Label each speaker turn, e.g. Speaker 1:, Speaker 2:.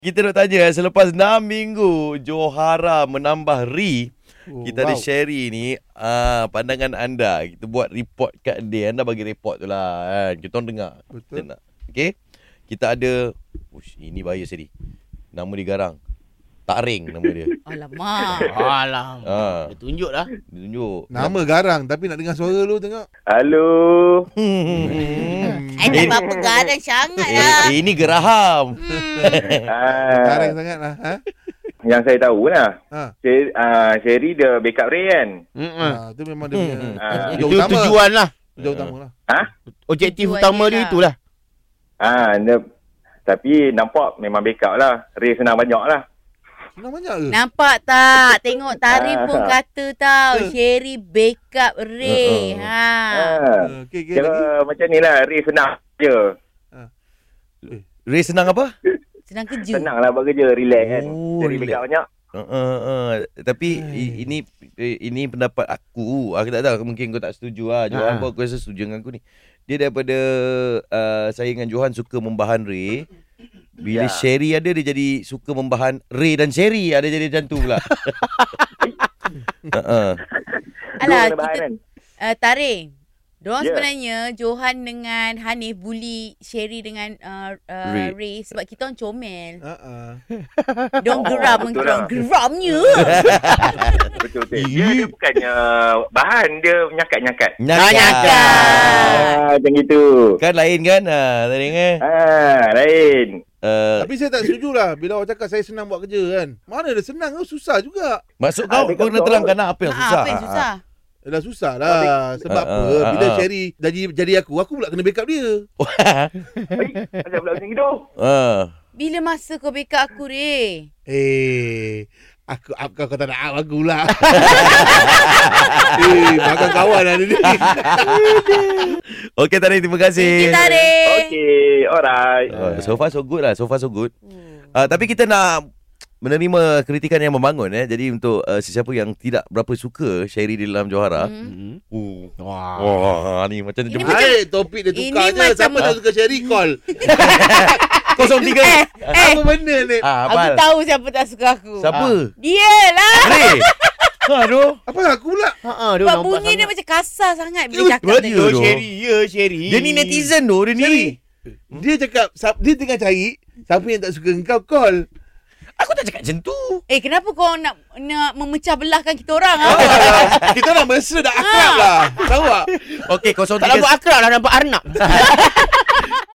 Speaker 1: Kita nak tanya selepas 6 minggu Johara menambah kita ada Sherry ni, pandangan anda. Kita buat report kat dia. Anda bagi report tu lah kan. Kita orang dengar.
Speaker 2: Betul.
Speaker 1: Okay. Kita ada ini bahaya Sherry. Nama dia garang. Taring nama dia.
Speaker 3: Alamak.
Speaker 4: Dia tunjuk dah.
Speaker 1: Dia tunjuk.
Speaker 2: Nama garang tapi nak dengar suara lu tengok.
Speaker 5: Halo.
Speaker 3: Tak apa-apa garang sangat lah.
Speaker 1: Ini geraham.
Speaker 2: Garang sangat lah.
Speaker 5: Yang saya tahu lah. Sherry dia backup Ray kan?
Speaker 2: Itu memang dia punya
Speaker 4: Itu tujuan lah.
Speaker 2: tujuan utama lah.
Speaker 4: Objektif
Speaker 3: Tujuan
Speaker 4: utama
Speaker 3: dia
Speaker 4: dia
Speaker 3: lah.
Speaker 4: itulah.
Speaker 5: Tapi nampak memang backup lah. Ray senang banyak lah.
Speaker 2: Senang banyak ke?
Speaker 3: Nampak tak? Tengok Tarif pun kata tau. Sherry backup Ray.
Speaker 2: Okay,
Speaker 5: Kira macam ni lah. Ray senang je.
Speaker 1: Ray senang apa?
Speaker 3: Senang kerja.
Speaker 5: Senang lah buat kerja. Relax kan.
Speaker 1: Oh,
Speaker 5: Sherry
Speaker 1: relax.
Speaker 5: backup banyak.
Speaker 1: Tapi ini pendapat aku. Aku tak tahu, mungkin kau tak setuju lah. Johan pun aku rasa setuju dengan aku ni. Dia daripada saya dengan Johan suka membahan Ray. Bila Sherry ada, dia jadi suka membahan Ray dan Sherry. Ada jadi macam tu pula.
Speaker 3: Alah,
Speaker 5: Dua bahan kan?
Speaker 3: Tarif. Diorang sebenarnya Johan dengan Hanif bully Sherry dengan Ray sebab kita orang comel. Diorang geram
Speaker 5: betul lah.
Speaker 3: geramnya.
Speaker 5: Betul. Dia bukannya bahan. Dia nyakat-nyakat. Macam gitu.
Speaker 1: Kan lain kan? Tadi kan?
Speaker 5: Lain.
Speaker 2: Tapi saya tak setuju lah bila orang cakap saya senang buat kerja kan. Mana ada senang tu, susah juga.
Speaker 1: Maksud kau kena terangkan lah apa yang susah.
Speaker 3: Apa yang susah?
Speaker 2: Dah susah lah. Sebab apa? Bila Sherry jadi aku pula kena backup dia.
Speaker 5: Macam pula macam gitu.
Speaker 3: Bila masa kau backup aku, Ray?
Speaker 2: Aku kau tak nak aku lah. Makan kawan lah ni.
Speaker 1: Okey Tarik, terima kasih.
Speaker 3: Kita, Ray.
Speaker 5: Okay, alright.
Speaker 1: So far so good lah. Tapi kita nak menerima kritikan yang membangun. Jadi untuk sesiapa yang tidak berapa suka Sherry di dalam Johara. Wah, ni macam
Speaker 3: Ini
Speaker 2: topik dia tukar
Speaker 3: ini
Speaker 2: je.
Speaker 3: macam
Speaker 2: Siapa tak suka Sherry call.
Speaker 1: 03.
Speaker 2: Apa benda ni?
Speaker 3: Aku tahu siapa tak suka aku.
Speaker 1: Siapa?
Speaker 3: Dia lah.
Speaker 1: Ray. Aduh.
Speaker 2: Apa aku pula?
Speaker 3: Sebab bunyi dia macam kasar sangat bila cakap tadi.
Speaker 4: Sherry.
Speaker 1: Dia ni netizen tu. Dia ni.
Speaker 2: Dia cakap dia tengah cari siapa yang tak suka engkau call.
Speaker 1: Aku tak cakap macam tu.
Speaker 3: Kenapa kau nak memecah belahkan kita orang?
Speaker 2: Kita orang mesra dah akrab lah. Tahu tak?
Speaker 1: Okey,
Speaker 4: Tak nampak akrab lah, nampak Arnab.